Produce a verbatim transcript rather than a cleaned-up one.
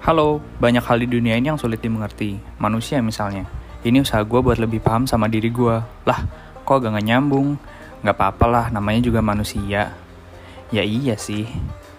Halo, banyak hal di dunia ini yang sulit dimengerti. Manusia misalnya. Ini usaha gue buat lebih paham sama diri gue. Lah, kok agak gak nyambung? Gak apa-apa lah, namanya juga manusia. Ya iya sih.